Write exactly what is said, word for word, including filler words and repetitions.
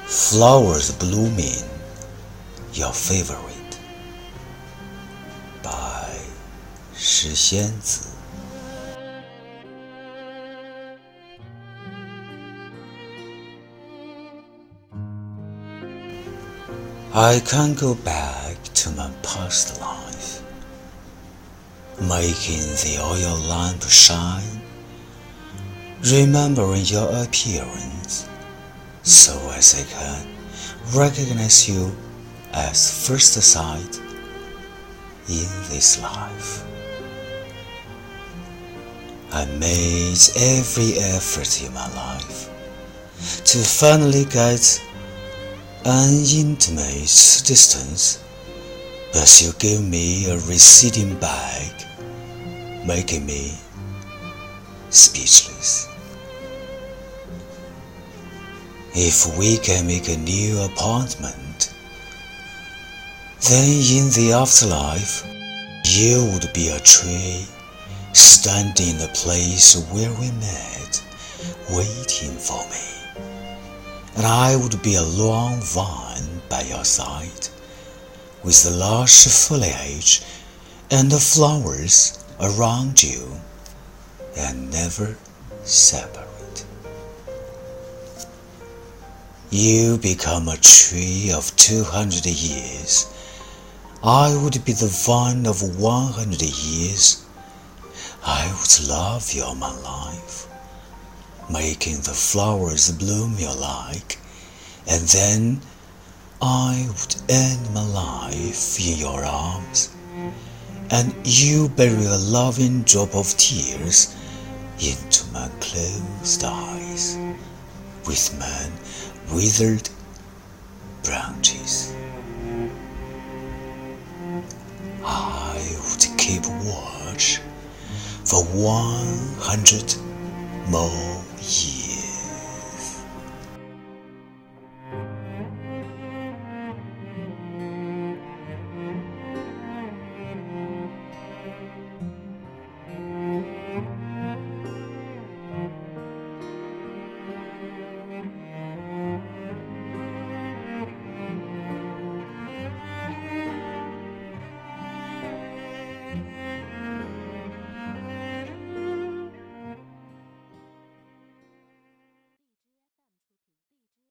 Flowers Blooming, Your Favorite by 石仙子。I can't go back to my past life, making the oil lamp shine, remembering your appearance, so as I can recognize you as first sight in this life. I made every effort in my life to finally get an intimate distance, but you gave me a receding back, making me speechless. If we can make a new appointment, then in the afterlife, you would be a tree standing in the place where we met, waiting for me, and I would be a long vine by your side, with the lush foliage and the flowers around you, and never separate. You become a tree of two hundred years. I would be the vine of one hundred years. I would love you all my life, making the flowers bloom you like, and then I would end my life in your arms, and you bury a loving drop of tears into my closed eyes, with my withered branches. I would keep watch for one hundred more years.